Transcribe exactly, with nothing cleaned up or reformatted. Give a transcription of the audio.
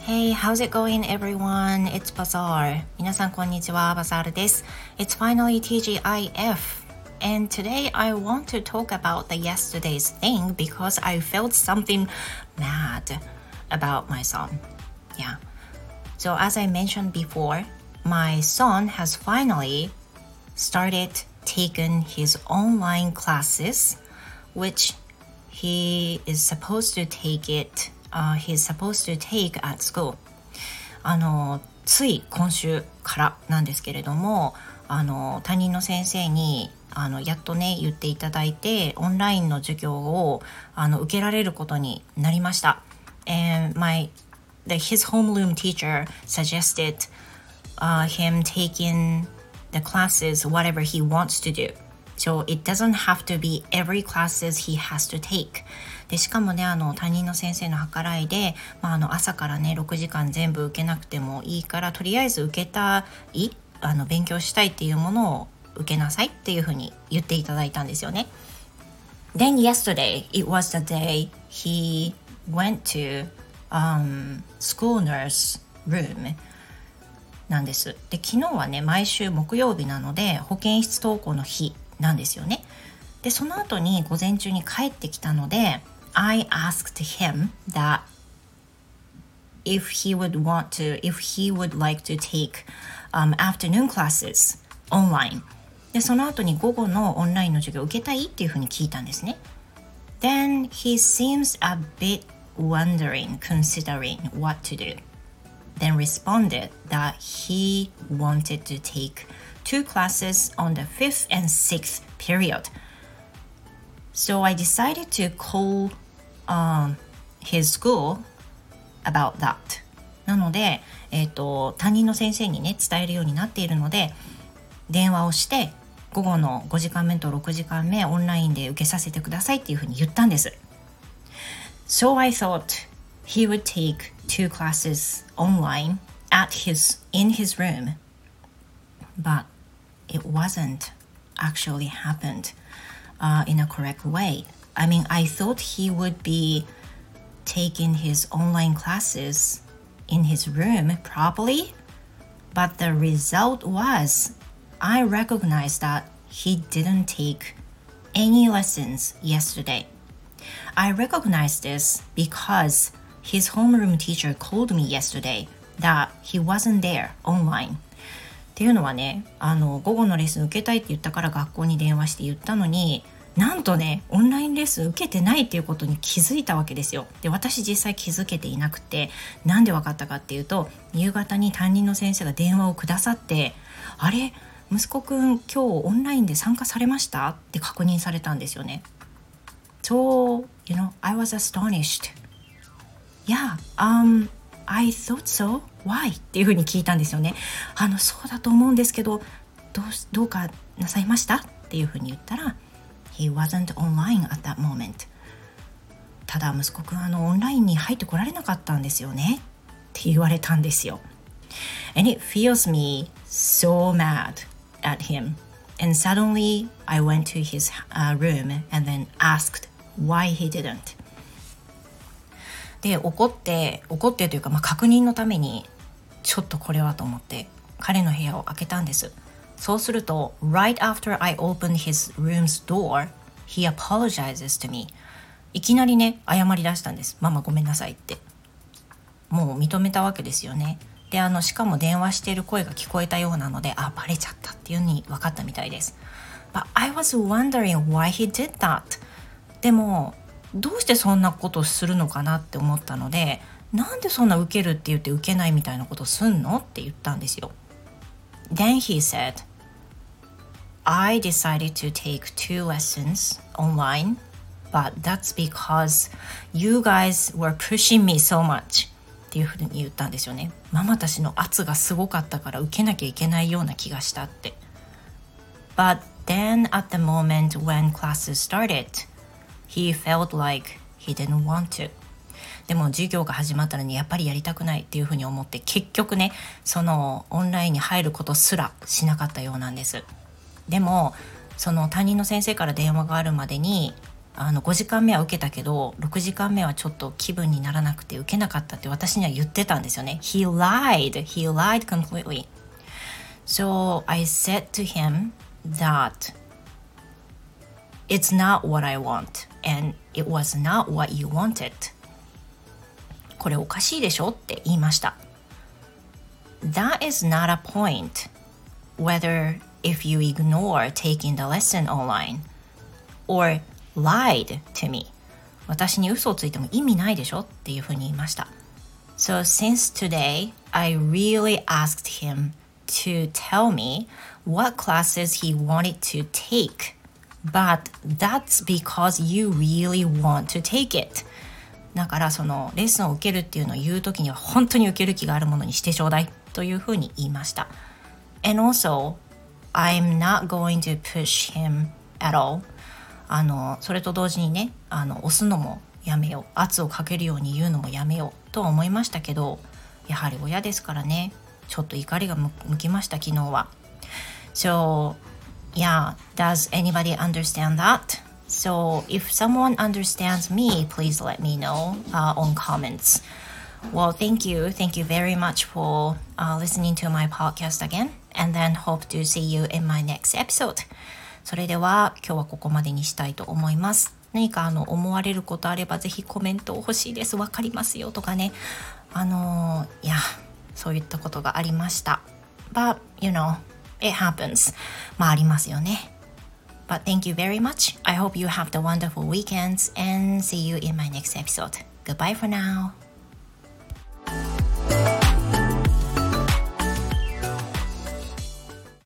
Hey, how's it going everyone? It's Bazaar. 皆さんこんにちは、バザールです。It's finally ティージーアイエフ. And today I want to talk about the yesterday's thing because I felt something mad about my son. Yeah. So as I mentioned before, my son has finally started taking his online classes, which he is supposed to take it.Uh, he's supposed to take at school. あのつい今週からなんですけれども、あの担任の先生にあのやっとね言っていただいて、オンラインの授業をあの受けられることになりました。And my the, his homeroom teacher suggested、uh, him taking the classes whatever he wants to do. So it doesn't have to be every classes he has to take.でしかもね、あの担任の先生の計らいで、まあ、あの朝からねろくじかん全部受けなくてもいいから、とりあえず受けたいあの勉強したいっていうものを受けなさいっていうふうに言っていただいたんですよね。Then yesterday it was the day he went to、um, school nurse room なんです。で昨日はね毎週木曜日なので保健室登校の日なんですよね。でその後に午前中に帰ってきたのでI asked him that if he would want to, if he would like to take、um, afternoon classes online. で、その後に午後のオンラインの授業を受けたいっていうふうに聞いたんですね。Then he seems a bit wondering, considering what to do. Then responded that he wanted to take two classes on the fifth and sixth period.So I decided to call、um, his school about that. なので、えーと、担任の先生にね伝えるようになっているので、電話をして午後のごじかんめとろくじかんめオンラインで受けさせてくださいっていうふうに言ったんです。So I thought he would take two classes online at his, in his room. But it wasn't actually happened.Uh, in a correct way. I mean, I thought he would be taking his online classes in his room properly, but the result was I recognized that he didn't take any lessons yesterday. I recognized this because his homeroom teacher called me yesterday that he wasn't there online.っていうのはね、あの午後のレッスン受けたいって言ったから学校に電話して言ったのに、なんとねオンラインレッスン受けてないっていうことに気づいたわけですよ。で私実際気づけていなくて、なんで分かったかっていうと、夕方に担任の先生が電話をくださって、あれ息子くん今日オンラインで参加されましたって確認されたんですよね。So, you know, I was astonished. Yeah, um, I thought so.Why? っていうふうに聞いたんですよね。あのそうだと思うんですけど、どうどうかなさいましたっていうふうに言ったら、He wasn't online at that moment. ただ息子くんあのオンラインに入ってこられなかったんですよねって言われたんですよ。And it feels me so mad at him. And suddenly I went to his、uh, room and then asked why he didn't.で怒って怒ってというか、まあ、確認のためにちょっとこれはと思って彼の部屋を開けたんです。そうすると Right after I opened his room's door, he apologizes to me. いきなりね謝り出したんです。ママごめんなさいって。もう認めたわけですよね。であのしかも電話している声が聞こえたようなので、あバレちゃったっていう風に分かったみたいです。But I was wondering why he did that. でもどうしてそんなことをするのかなって思ったので、なんでそんな受けるって言って受けないみたいなことすんのって言ったんですよ。Then he said, I decided to take two lessons online, but that's because you guys were pushing me so much っていうふうに言ったんですよね。ママたちの圧がすごかったから受けなきゃいけないような気がしたって。But then at the moment when classes started,He felt like he didn't want to. でも授業が始まったのにやっぱりやりたくないっていうふうに思って、結局ねそのオンラインに入ることすらしなかったようなんです。でもその担任の先生から電話があるまでにあのごじかんめは受けたけどろくじかんめはちょっと気分にならなくて受けなかったって私には言ってたんですよね。 He lied. He lied completely. So I said to him that it's not what I want and it was not what you wanted. これおかしいでしょって言いました。 That is not a point whether if you ignore taking the lesson online or lied to me. 私に嘘をついても意味ないでしょっていうふうに言いました。 So since today I really asked him to tell me what classes he wanted to take, but that's because you really want to take it. だからそのレッスンを受けるっていうのを言うときには本当に受ける気があるものにしてちょうだいというふうに言いました。 And also I'm not going to push him at all. あのそれと同時にね、あの押すのもやめよう、圧をかけるように言うのもやめようとは思いましたけど、やはり親ですからね、ちょっと怒りが向きました昨日は。 So yeah, does anybody understand that? So if someone understands me, please let me know uh, on comments. Well, thank you. Thank you very much for uh, listening to my podcast again. And then hope to see you in my next episode. それでは今日はここまでにしたいと思います。何かあの思われることあればぜひコメント欲しいです。わかりますよとかね。あのー、いや、そういったことがありました。But, you know, it happens. まあありますよね。But thank you very much. I hope you have the wonderful weekends and see you in my next episode. Goodbye for now.